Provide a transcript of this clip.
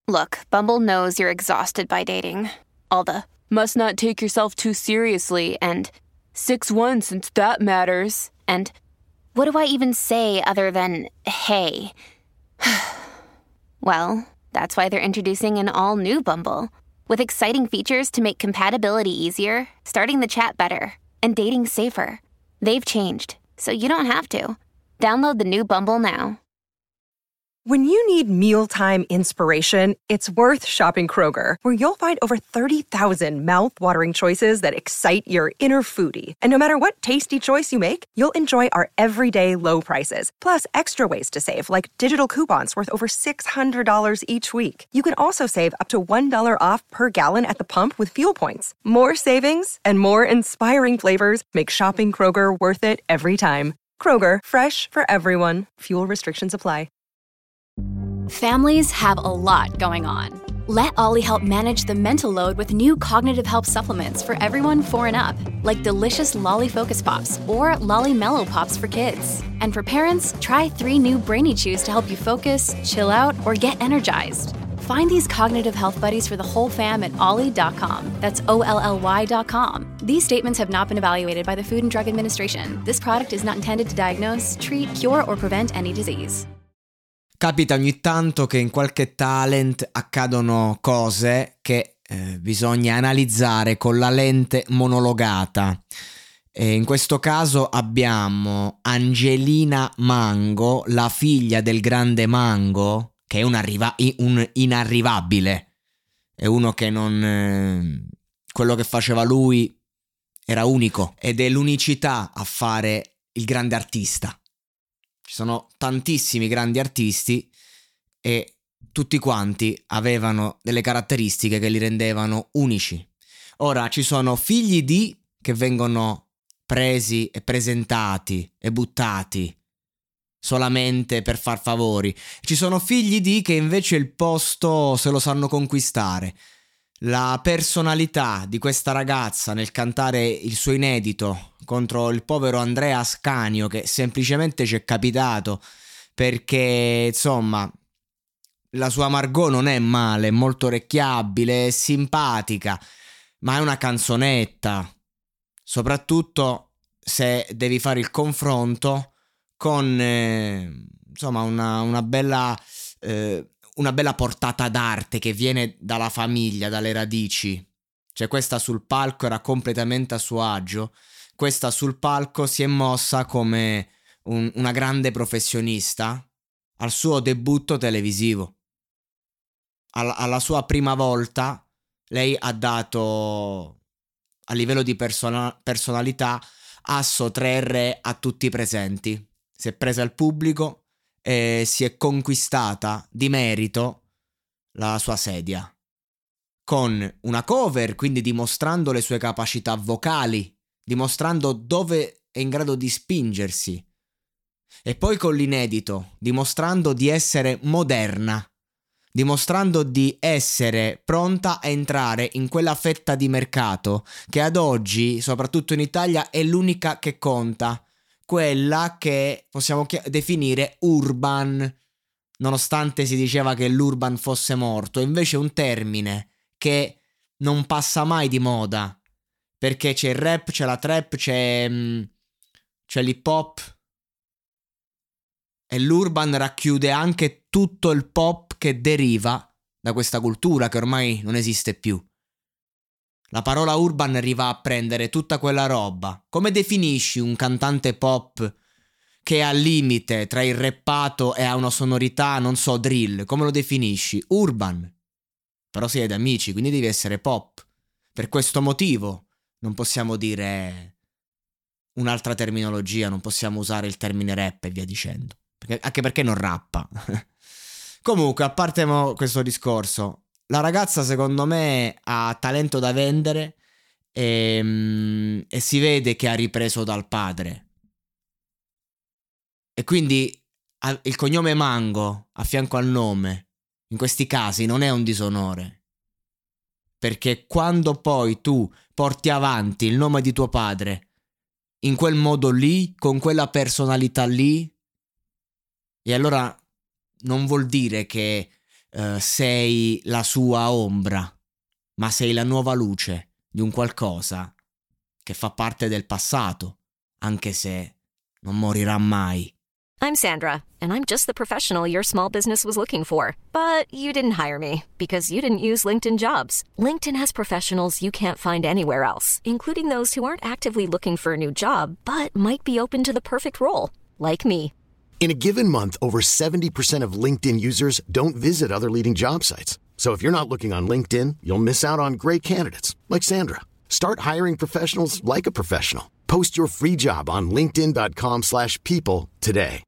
Look, Bumble knows you're exhausted by dating. All the must not take yourself too seriously and 6'1" since that matters. And what do I even say other than hey? Well, that's why they're introducing an all-new Bumble with exciting features to make compatibility easier, starting the chat better, and dating safer. They've changed, so you don't have to. Download the new Bumble now. When you need mealtime inspiration, it's worth shopping Kroger, where you'll find over 30,000 mouth-watering choices that excite your inner foodie. And no matter what tasty choice you make, you'll enjoy our everyday low prices, plus extra ways to save, like digital coupons worth over $600 each week. You can also save up to $1 off per gallon at the pump with fuel points. More savings and more inspiring flavors make shopping Kroger worth it every time. Kroger, fresh for everyone. Fuel restrictions apply. Families have a lot going on. Let Ollie help manage the mental load with new cognitive help supplements for everyone 4 and up, like delicious Lolly Focus Pops or Lolly Mellow Pops for kids. And for parents, try 3 new Brainy Chews to help you focus, chill out, or get energized. Find these cognitive health buddies for the whole fam at ollie.com. That's OLLY.com. These statements have not been evaluated by the Food and Drug Administration. This product is not intended to diagnose, treat, cure, or prevent any disease. Capita ogni tanto che in qualche talent accadono cose che bisogna analizzare con la lente monologata. E in questo caso abbiamo Angelina Mango, la figlia del grande Mango, che è un inarrivabile. È uno che non... quello che faceva lui era unico ed è l'unicità a fare il grande artista. Ci sono tantissimi grandi artisti e tutti quanti avevano delle caratteristiche che li rendevano unici. Ora ci sono figli di che vengono presi e presentati e buttati solamente per far favori. Ci sono figli di che invece il posto se lo sanno conquistare. La personalità di questa ragazza nel cantare il suo inedito contro il povero Andrea Ascanio, che semplicemente ci è capitato perché insomma la sua Margot non è male, è molto orecchiabile, è simpatica, ma è una canzonetta, soprattutto se devi fare il confronto con insomma una bella portata d'arte che viene dalla famiglia, dalle radici. Cioè questa sul palco era completamente a suo agio, questa sul palco si è mossa come una grande professionista al suo debutto televisivo. Alla sua prima volta lei ha dato, a livello di personalità, asso 3 re a tutti i presenti. Si è presa il pubblico e si è conquistata di merito la sua sedia con una cover, quindi dimostrando le sue capacità vocali, dimostrando dove è in grado di spingersi, e poi con l'inedito, dimostrando di essere moderna, dimostrando di essere pronta a entrare in quella fetta di mercato che ad oggi, soprattutto in Italia, è l'unica che conta, quella che possiamo definire urban, nonostante si diceva che l'urban fosse morto. Invece è un termine che non passa mai di moda, perché c'è il rap, c'è la trap, c'è l'hip hop, e l'urban racchiude anche tutto il pop che deriva da questa cultura che ormai non esiste più. La parola urban arriva a prendere tutta quella roba. Come definisci un cantante pop che è al limite tra il rappato e ha una sonorità, non so, drill? Come lo definisci? Urban. Però siete amici, quindi devi essere pop. Per questo motivo non possiamo dire un'altra terminologia, non possiamo usare il termine rap e via dicendo. Anche perché non rappa. Comunque, a parte questo discorso, la ragazza secondo me ha talento da vendere e si vede che ha ripreso dal padre. E quindi il cognome Mango a fianco al nome, in questi casi, non è un disonore. Perché quando poi tu porti avanti il nome di tuo padre in quel modo lì, con quella personalità lì, e allora non vuol dire che sei la sua ombra, ma sei la nuova luce di un qualcosa che fa parte del passato, anche se non morirà mai. I'm Sandra, and I'm just the professional your small business was looking for. But you didn't hire me because you didn't use LinkedIn Jobs. LinkedIn has professionals you can't find anywhere else, including those who aren't actively looking for a new job, but might be open to the perfect role, like me. In a given month, over 70% of LinkedIn users don't visit other leading job sites. So if you're not looking on LinkedIn, you'll miss out on great candidates like Sandra. Start hiring professionals like a professional. Post your free job on linkedin.com/people today.